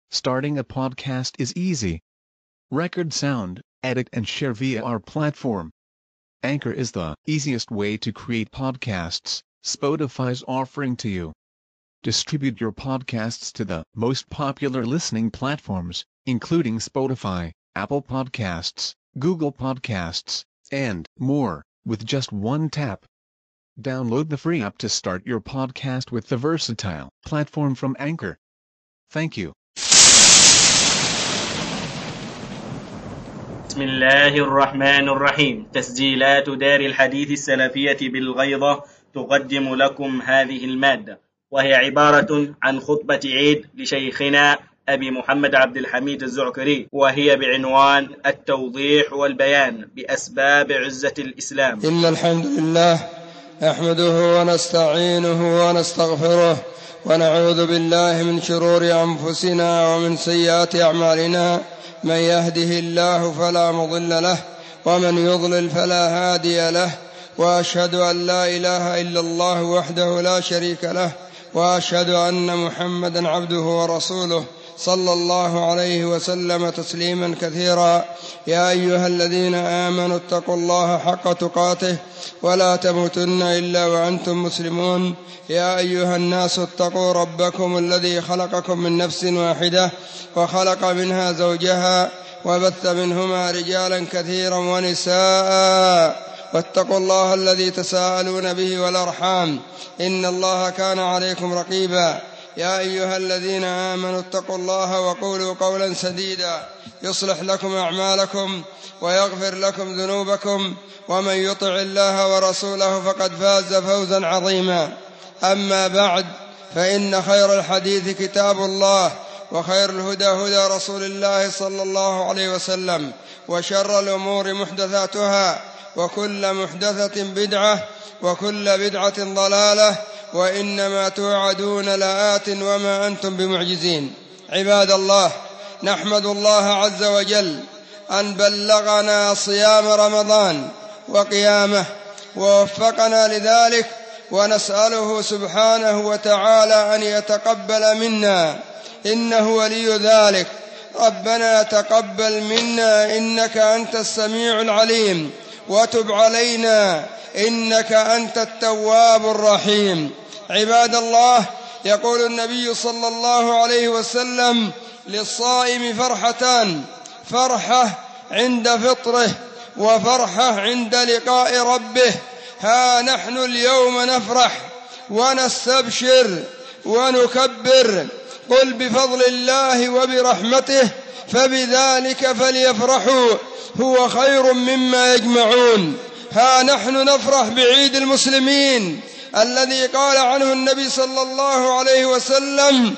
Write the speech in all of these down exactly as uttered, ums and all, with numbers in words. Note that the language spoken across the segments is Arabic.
Starting a podcast is easy. Record sound, edit and share via our platform. Anchor is the easiest way to create podcasts Spotify's offering to you. Distribute your podcasts to the most popular listening platforms, including Spotify, Apple Podcasts, Google Podcasts, and more, with just one tap. Download the free app to start your podcast with the versatile platform from Anchor. Thank you. بسم الله الرحمن الرحيم. تسجيلات دار الحديث السلفية بالغيضة تقدم لكم هذه المادة، وهي عبارة عن خطبة عيد لشيخنا أبي محمد عبد الحميد الزعكري، وهي بعنوان التوضيح والبيان بأسباب عزة الإسلام. إن الحمد لله نحمده ونستعينه ونستغفره ونعوذ بالله من شرور أنفسنا ومن سيئات أعمالنا. من يهده الله فلا مضل له ومن يضلل فلا هادي له، وأشهد أن لا إله إلا الله وحده لا شريك له، وأشهد أن محمدا عبده ورسوله صلى الله عليه وسلم تسليما كثيرا. يا أيها الذين آمنوا اتقوا الله حق تقاته ولا تموتن إلا وأنتم مسلمون. يا أيها الناس اتقوا ربكم الذي خلقكم من نفس واحدة وخلق منها زوجها وبث منهما رجالا كثيرا ونساء، واتقوا الله الذي تساءلون به والأرحام إن الله كان عليكم رقيبا. يا أيها الذين آمنوا اتقوا الله وقولوا قولا سديدا يصلح لكم أعمالكم ويغفر لكم ذنوبكم، ومن يطع الله ورسوله فقد فاز فوزا عظيما. أما بعد، فإن خير الحديث كتاب الله، وخير الهدى هدى رسول الله صلى الله عليه وسلم، وشر الأمور محدثاتها، وكل محدثة بدعة، وكل بدعة ضلالة، وإنما توعدون لآت وما أنتم بمعجزين. عباد الله، نحمد الله عز وجل أن بلغنا صيام رمضان وقيامه ووفقنا لذلك، ونسأله سبحانه وتعالى أن يتقبل منا، إنه ولي ذلك. ربنا تقبل منا إنك أنت السميع العليم، وتب علينا إنك أنت التواب الرحيم. عباد الله، يقول النبي صلى الله عليه وسلم: للصائم فرحتان، فرحة عند فطره وفرحة عند لقاء ربه. ها نحن اليوم نفرح ونستبشر ونكبر، قل بفضل الله وبرحمته فبذلك فليفرحوا هو خير مما يجمعون. ها نحن نفرح بعيد المسلمين الذي قال عنه النبي صلى الله عليه وسلم: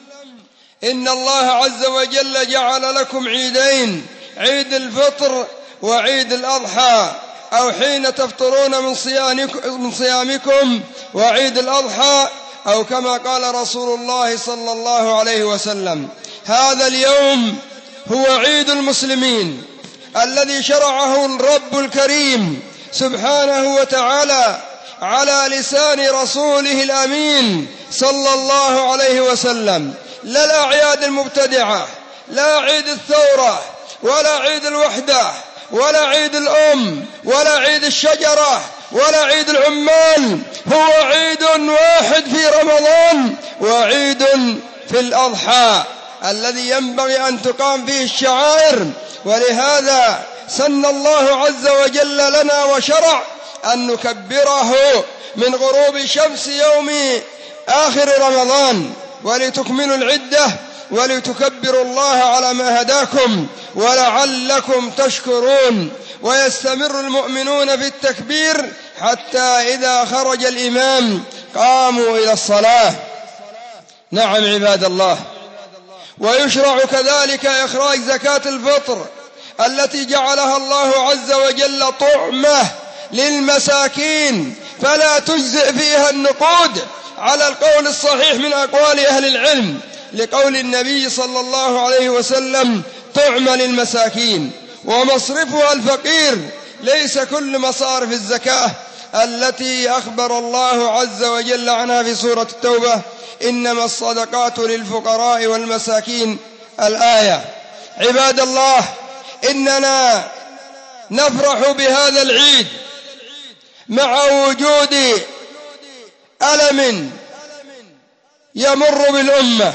إن الله عز وجل جعل لكم عيدين، عيد الفطر وعيد الأضحى، أو حين تفطرون من صيامكم، وعيد الأضحى، أو كما قال رسول الله صلى الله عليه وسلم. هذا اليوم هو عيد المسلمين الذي شرعه الرب الكريم سبحانه وتعالى على لسان رسوله الأمين صلى الله عليه وسلم. لا الأعياد المبتدعة، لا عيد الثورة، ولا عيد الوحدة، ولا عيد الأم، ولا عيد الشجرة، ولا عيد العمال. هو عيد واحد في رمضان، وعيد في الأضحى الذي ينبغي أن تقام فيه الشعائر. ولهذا سن الله عز وجل لنا وشرع أن نكبره من غروب شمس يوم آخر رمضان، ولتكملوا العدة ولتكبروا الله على ما هداكم ولعلكم تشكرون. ويستمر المؤمنون في التكبير حتى إذا خرج الإمام قاموا إلى الصلاة. نعم عباد الله، ويشرع كذلك إخراج زكاة الفطر التي جعلها الله عز وجل طعمة للمساكين، فلا تجزئ فيها النقود على القول الصحيح من أقوال أهل العلم، لقول النبي صلى الله عليه وسلم: طعمة للمساكين. ومصرفها الفقير، ليس كل مصارف الزكاة التي أخبر الله عز وجل عنها في سورة التوبة: إنما الصدقات للفقراء والمساكين الآية. عباد الله، إننا نفرح بهذا العيد مع وجود ألم يمر بالأمة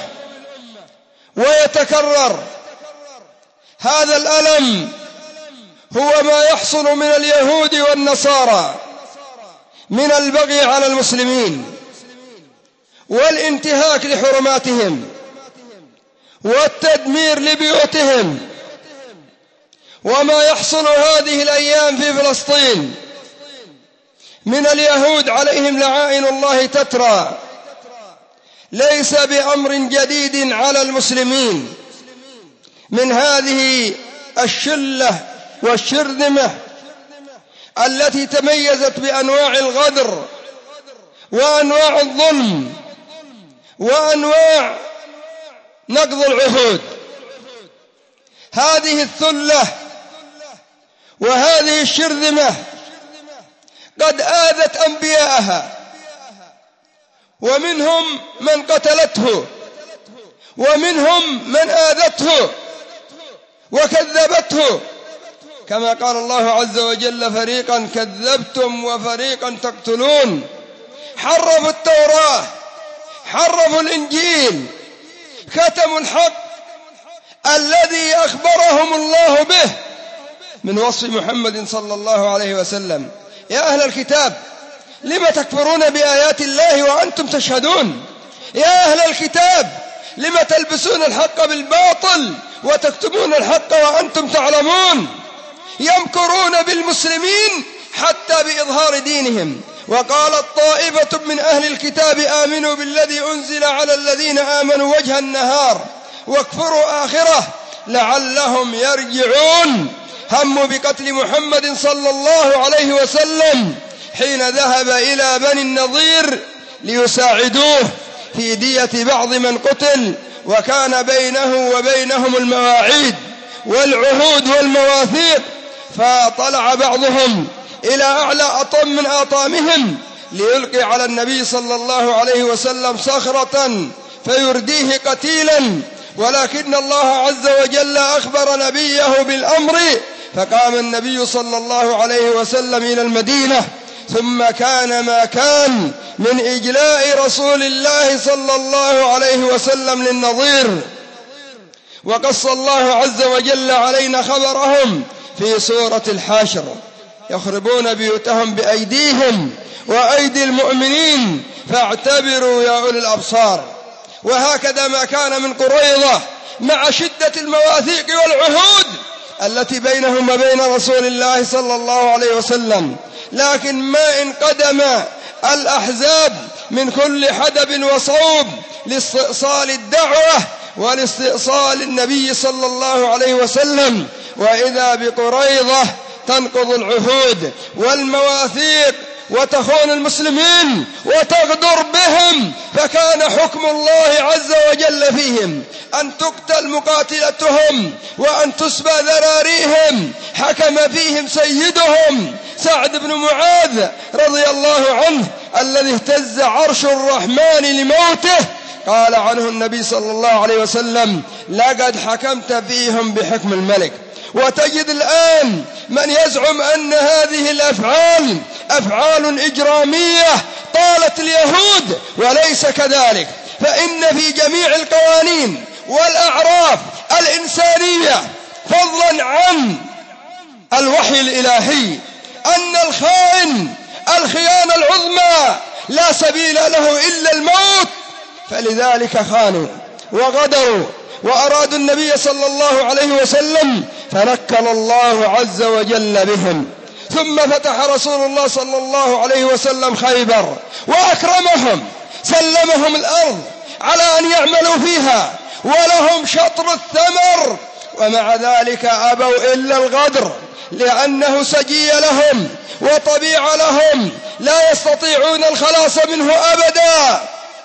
ويتكرر. هذا الألم هو ما يحصل من اليهود والنصارى من البغي على المسلمين والانتهاك لحرماتهم والتدمير لبيوتهم، وما يحصل هذه الأيام في فلسطين من اليهود عليهم لعائن الله تترى ليس بأمر جديد على المسلمين. من هذه الشلة والشرذمة التي تميزت بأنواع الغدر وأنواع الظلم وأنواع نقض العهود، هذه الثلة وهذه الشرذمة قد آذت أنبياءها، ومنهم من قتلته ومنهم من آذته وكذبته، كما قال الله عز وجل: فريقا كذبتم وفريقا تقتلون. حرفوا التوراة، حرفوا الإنجيل، كتموا الحق الذي أخبرهم الله به من وصف محمد صلى الله عليه وسلم. يا أهل الكتاب، لم تكفرون بآيات الله وأنتم تشهدون؟ يا أهل الكتاب، لم تلبسون الحق بالباطل وتكتمون الحق وأنتم تعلمون؟ يمكرون بالمسلمين حتى بإظهار دينهم. وقالت طائفة من أهل الكتاب آمنوا بالذي أنزل على الذين آمنوا وجه النهار واكفروا آخره لعلهم يرجعون. هموا بقتل محمد صلى الله عليه وسلم حين ذهب إلى بني النضير ليساعدوه في دية بعض من قتل، وكان بينه وبينهم المواعيد والعهود والمواثيق، فطلع بعضهم إلى أعلى أطم من آطامهم ليلقي على النبي صلى الله عليه وسلم صخرة فيرديه قتيلا، ولكن الله عز وجل أخبر نبيه بالأمر، فقام النبي صلى الله عليه وسلم إلى المدينة، ثم كان ما كان من إجلاء رسول الله صلى الله عليه وسلم للنظير. وقص الله عز وجل علينا خبرهم في سورة الحاشر: يخربون بيوتهم بأيديهم وأيدي المؤمنين فاعتبروا يا أولي الأبصار. وهكذا ما كان من قريظة مع شدة المواثيق والعهود التي بينهم وبين رسول الله صلى الله عليه وسلم، لكن ما انقدم الأحزاب من كل حدب وصوب لاستئصال الدعوة ولاستئصال النبي صلى الله عليه وسلم، وإذا بقريظة تنقض العهود والمواثيق وتخون المسلمين وتغدر بهم، فكان حكم الله عز وجل فيهم أن تقتل مقاتلتهم وأن تسبى ذراريهم. حكم فيهم سيدهم سعد بن معاذ رضي الله عنه الذي اهتز عرش الرحمن لموته. قال عنه النبي صلى الله عليه وسلم: لقد حكمت فيهم بحكم الملك. وتجد الآن من يزعم أن هذه الأفعال أفعال إجرامية طالت اليهود، وليس كذلك، فإن في جميع القوانين والأعراف الإنسانية فضلا عن الوحي الإلهي أن الخائن الخيانة العظمى لا سبيل له إلا الموت، فلذلك خانوا وغدروا وأرادوا النبي صلى الله عليه وسلم، فنكل الله عز وجل بهم. ثم فتح رسول الله صلى الله عليه وسلم خيبر وأكرمهم، سلمهم الأرض على أن يعملوا فيها ولهم شطر الثمر، ومع ذلك أبوا إلا الغدر، لأنه سجي لهم وطبيعة لهم لا يستطيعون الخلاص منه أبدا.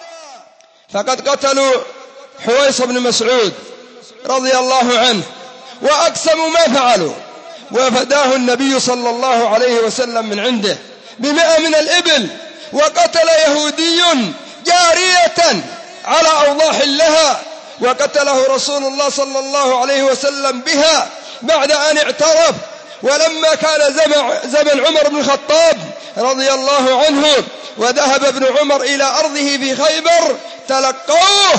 فقد قتلوا حويص بن مسعود رضي الله عنه وأقسموا ما فعلوا، وفداه النبي صلى الله عليه وسلم من عنده بمئة من الإبل. وقتل يهودي جارية على أوضاح لها وقتله رسول الله صلى الله عليه وسلم بها بعد أن اعترف. ولما كان زمن عمر بن الخطاب رضي الله عنه وذهب ابن عمر إلى أرضه في خيبر تلقوه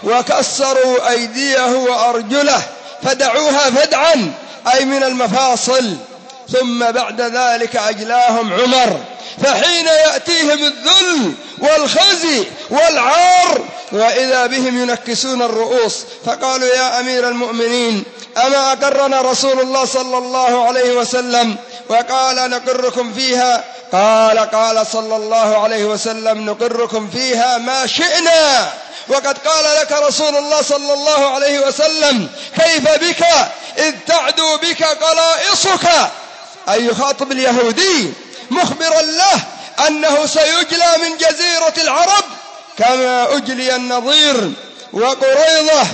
وكسروا أيديه وأرجله فدعوها فدعا أي من المفاصل. ثم بعد ذلك أجلاهم عمر، فحين يأتيهم الذل والخزي والعار وإذا بهم ينكسون الرؤوس فقالوا يا أمير المؤمنين أما أقرنا رسول الله صلى الله عليه وسلم وقال نقركم فيها؟ قال قال صلى الله عليه وسلم نقركم فيها ما شئنا، وقد قال لك رسول الله صلى الله عليه وسلم كيف بك إذ تعدو بك قلائصك، أي يخاطب اليهودي مخبرا له أنه سيجلى من جزيرة العرب كما أجلي النضير وقريظة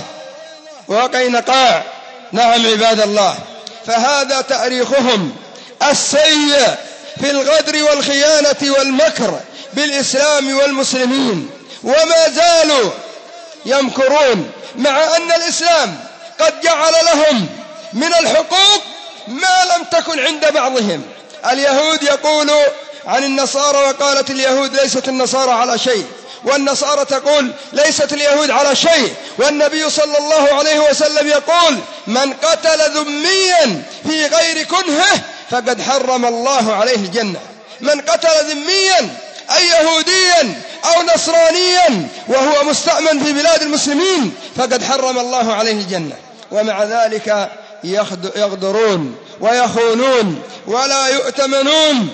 وقينقاع. نعم عباد الله، فهذا تاريخهم السيء في الغدر والخيانة والمكر بالإسلام والمسلمين، وما زالوا يمكرون مع أن الإسلام قد جعل لهم من الحقوق ما لم تكن عند بعضهم. اليهود يقول عن النصارى وقالت اليهود ليست النصارى على شيء، والنصارى تقول ليست اليهود على شيء، والنبي صلى الله عليه وسلم يقول من قتل ذميا في غير كنهه فقد حرم الله عليه الجنة. من قتل ذميا أي يهوديا أو نصرانيا وهو مستأمن في بلاد المسلمين فقد حرم الله عليه الجنة. ومع ذلك يغدرون ويخونون ولا يؤتمنون.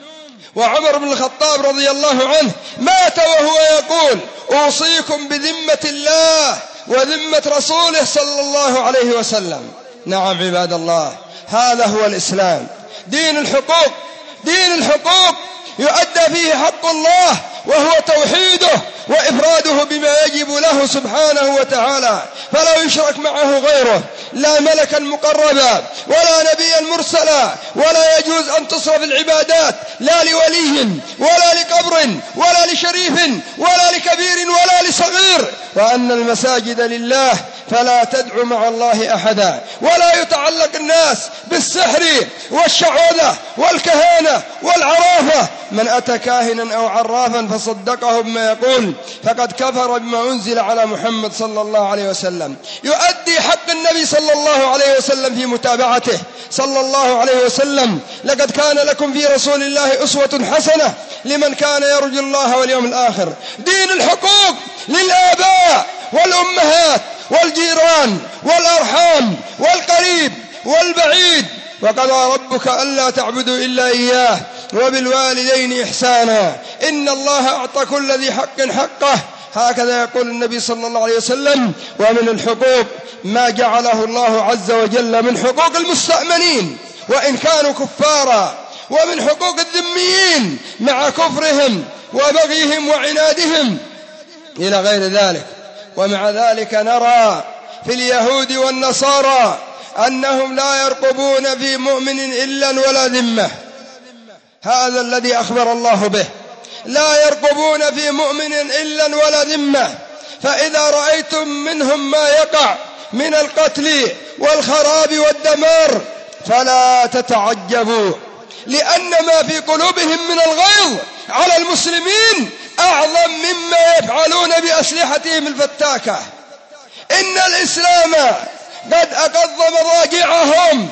وعمر بن الخطاب رضي الله عنه مات وهو يقول أوصيكم بذمة الله وذمة رسوله صلى الله عليه وسلم. نعم عباد الله، هذا هو الإسلام، دين الحقوق، دين الحقوق يؤدى فيه حق الله وهو توحيده وإفراده بما يجب له سبحانه وتعالى، فلا يشرك معه غيره، لا ملكا مقربا ولا نبيا مرسلا، ولا يجوز أن تصرف العبادات لا لولي ولا لقبر ولا لشريف ولا لكبير ولا لصغير، وأن المساجد لله فلا تدع مع الله أحدا، ولا يتعلق الناس بالسحر والشعوذة والكهانة والعرافة. من أتى كاهنا أو عرافا فصدقه بما يقول فقد كفر بما أنزل على محمد صلى الله عليه وسلم. يؤدي حق النبي صلى الله عليه وسلم في متابعته صلى الله عليه وسلم. لقد كان لكم في رسول الله أسوة حسنة لمن كان يرجو الله واليوم الآخر. دين الحقوق للآباء والأمهات والجيران والأرحام والقريب والبعيد. وقضى ربك ألا تعبدوا إلا إياه وبالوالدين إحسانا إن الله أعطى كل ذي حق حقه، هكذا يقول النبي صلى الله عليه وسلم. ومن الحقوق ما جعله الله عز وجل من حقوق المستأمنين وإن كانوا كفارا، ومن حقوق الذميين مع كفرهم وبغيهم وعنادهم إلى غير ذلك. ومع ذلك نرى في اليهود والنصارى أنهم لا يرقبون في مؤمن إلا ولا ذمة، هذا الذي أخبر الله به، لا يرقبون في مؤمن إلا ولا ذمة. فإذا رأيتم منهم ما يقع من القتل والخراب والدمار فلا تتعجبوا، لأن ما في قلوبهم من الغيظ على المسلمين أعظم مما يفعلون بأسلحتهم الفتاكة. إن الإسلام قد أقض مضاجعهم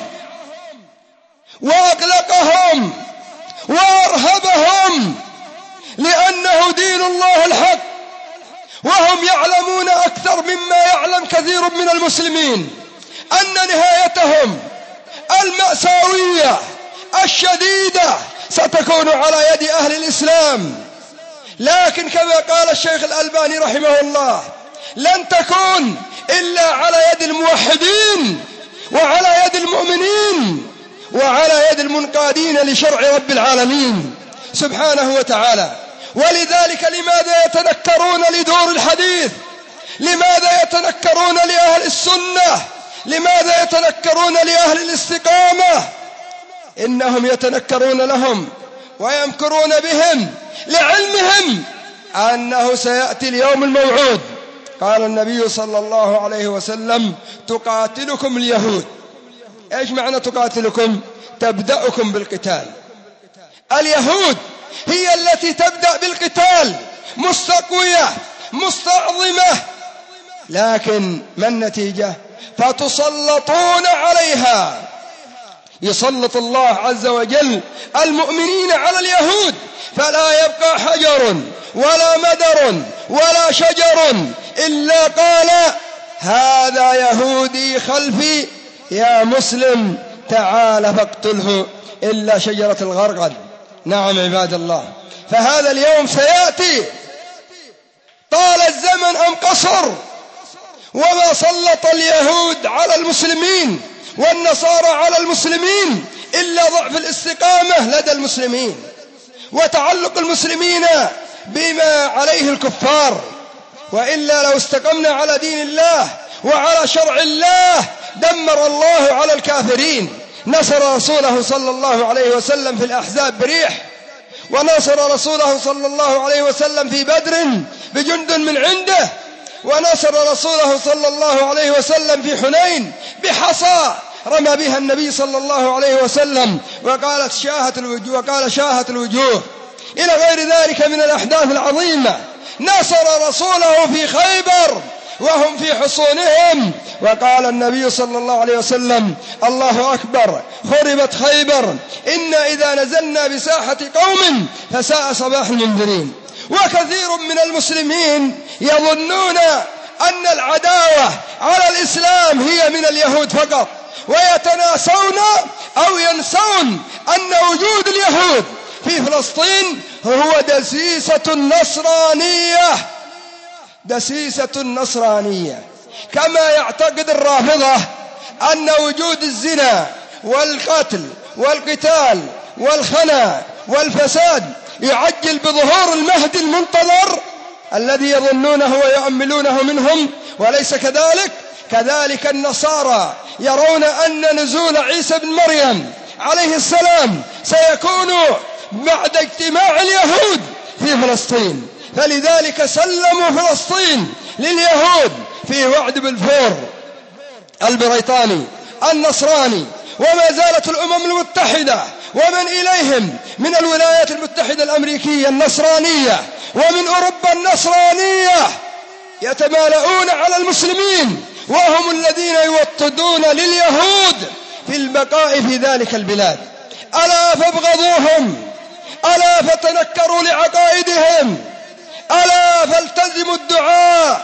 وأقلقهم وأرهبهم، لأنه دين الله الحق، وهم يعلمون أكثر مما يعلم كثير من المسلمين أن نهايتهم المأساوية الشديدة ستكون على يد أهل الإسلام. لكن كما قال الشيخ الألباني رحمه الله لن تكون إلا على يد الموحدين وعلى يد المؤمنين وعلى يد المنقادين لشرع رب العالمين سبحانه وتعالى. ولذلك لماذا يتنكرون لدور الحديث؟ لماذا يتنكرون لأهل السنة؟ لماذا يتنكرون لأهل الاستقامة؟ إنهم يتنكرون لهم ويمكرون بهم لعلمهم أنه سيأتي اليوم الموعود قال النبي صلى الله عليه وسلم تقاتلكم اليهود. إيش معنى تقاتلكم؟ تبدأكم بالقتال. اليهود هي التي تبدأ بالقتال، مستقوية مستعظمة، لكن ما النتيجة؟ فتسلطون عليها. يسلط الله عز وجل المؤمنين على اليهود، فلا يبقى حجر ولا مدر ولا شجر إلا قال هذا يهودي خلفي يا مسلم تعال فاقتله، إلا شجرة الغرقد. نعم عباد الله، فهذا اليوم سيأتي، طال الزمن أم قصر، وما سلط اليهود على المسلمين والنصارى على المسلمين إلا ضعف الاستقامة لدى المسلمين وتعلق المسلمين بما عليه الكفار. وإلا لو استقمنا على دين الله وعلى شرع الله دمر الله على الكافرين. نصر رسوله صلى الله عليه وسلم في الأحزاب بريح، ونصر رسوله صلى الله عليه وسلم في بدر بجند من عنده، ونصر رسوله صلى الله عليه وسلم في حنين بحصى رمى بها النبي صلى الله عليه وسلم وقالت شاهت الوجوه وقال شاهت الوجوه، إلى غير ذلك من الأحداث العظيمة. نصر رسوله في خيبر وهم في حصونهم، وقال النبي صلى الله عليه وسلم الله أكبر خربت خيبر، إن إذا نزلنا بساحة قوم فساء صباح المنذرين. وكثير من المسلمين يظنون أن العداوة على الإسلام هي من اليهود فقط، ويتناسون أو ينسون أن وجود اليهود في فلسطين هو دسيسة النصرانية، دسيسة النصرانية، كما يعتقد الرافضة أن وجود الزنا والقتل والقتال والخنا والفساد يعجل بظهور المهدي المنتظر الذي يظنونه ويؤملونه منهم، وليس كذلك. كذلك النصارى يرون أن نزول عيسى بن مريم عليه السلام سيكون بعد اجتماع اليهود في فلسطين، فلذلك سلموا فلسطين لليهود في وعد بلفور البريطاني النصراني. وما زالت الأمم المتحدة ومن إليهم من الولايات المتحدة الأمريكية النصرانية ومن أوروبا النصرانية يتمالؤون على المسلمين، وهم الذين يوطدون لليهود في البقاء في ذلك البلاد. ألا فابغضوهم، ألا فتنكروا لعقائدهم، ألا فالتزموا الدعاء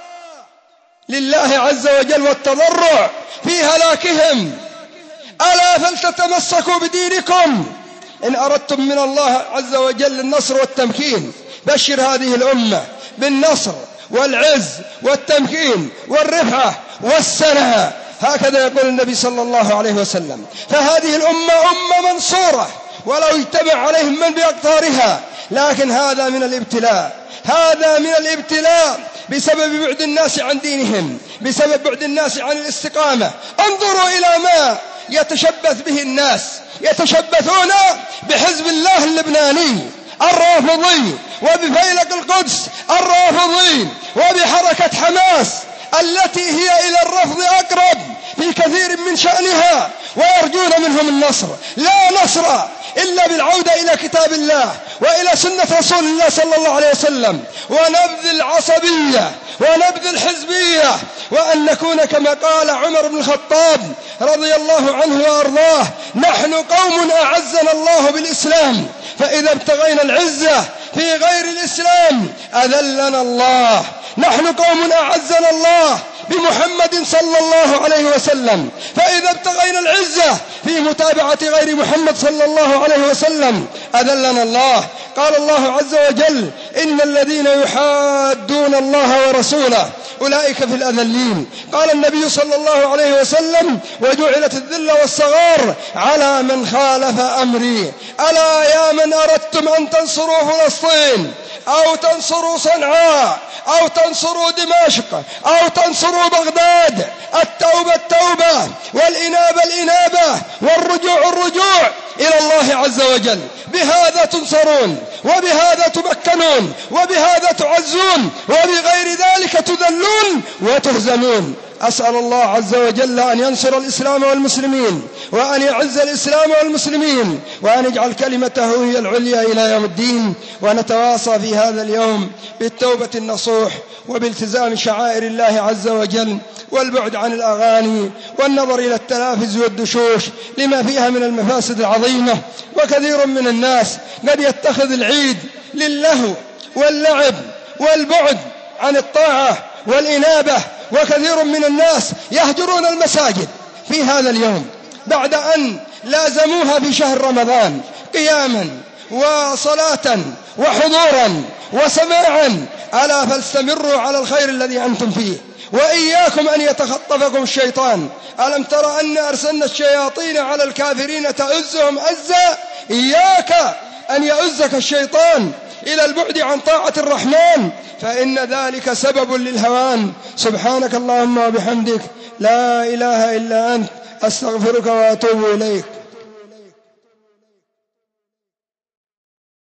لله عز وجل والتضرع في هلاكهم، ألا فلتتمسكوا بدينكم إن أردتم من الله عز وجل النصر والتمكين. بشر هذه الأمة بالنصر والعز والتمكين والرفعة والسنة، هكذا يقول النبي صلى الله عليه وسلم. فهذه الأمة أمة منصورة ولو اجتمع عليهم من بأقطارها، لكن هذا من الابتلاء، هذا من الابتلاء بسبب بعد الناس عن دينهم، بسبب بعد الناس عن الاستقامة. انظروا إلى ما يتشبث به الناس، يتشبثون بحزب الله اللبناني الرافضي، وبفيلق القدس الرافضي، وبحركة حماس التي هي إلى الرفض أقرب في كثير من شأنها، ويرجون منهم النصر. لا نصر إلا بالعودة إلى كتاب الله وإلى سنة رسول الله صلى الله عليه وسلم، ونبذ العصبية ونبذ الحزبية، وأن نكون كما قال عمر بن الخطاب رضي الله عنه وأرضاه: نحن قوم أعزنا الله بالإسلام، فإذا ابتغينا العزة في غير الإسلام أذلنا الله. نحن قوم أعزنا الله بمحمد صلى الله عليه وسلم، فإذا ابتغينا العزة في متابعة غير محمد صلى الله عليه وسلم أذلنا الله. قال الله عز وجل: إن الذين يحادون الله ورسوله أولئك في الأذلين. قال النبي صلى الله عليه وسلم: وجعلت الذلة والصغار على من خالف أمري. ألا يا من أردتم أن تنصروا فلسطين أو تنصروا صنعاء أو تنصروا دمشق أو تنصروا بغداد، التوبة التوبة والإنابة الإنابة والرجوع الرجوع إلى الله عز وجل. بهذا تنصرون، وبهذا تمكنون، وبهذا تعزون، وبغير ذلك تذلون وتهزمون. أسأل الله عز وجل أن ينصر الإسلام والمسلمين، وأن يعز الإسلام والمسلمين، وأن يجعل كلمته هي العليا إلى يوم الدين. ونتواصى في هذا اليوم بالتوبة النصوح، وبالتزام شعائر الله عز وجل، والبعد عن الأغاني، والنظر إلى التلافز والدشوش لما فيها من المفاسد العظيمة. وكثير من الناس قد يتخذ العيد للهو واللعب والبعد عن الطاعة والإنابة، وكثير من الناس يهجرون المساجد في هذا اليوم بعد أن لازموها في شهر رمضان قياما وصلاة وحضورا وسماعا. ألا فاستمروا على الخير الذي أنتم فيه، وإياكم أن يتخطفكم الشيطان. ألم تر أن أرسلنا الشياطين على الكافرين تؤزهم أزا؟ إياك أن يؤزك الشيطان إلى البعد عن طاعة الرحمن، فإن ذلك سبب للهوان. سبحانك اللهم وبحمدك، لا إله إلا أنت، أستغفرك وأتوب إليك.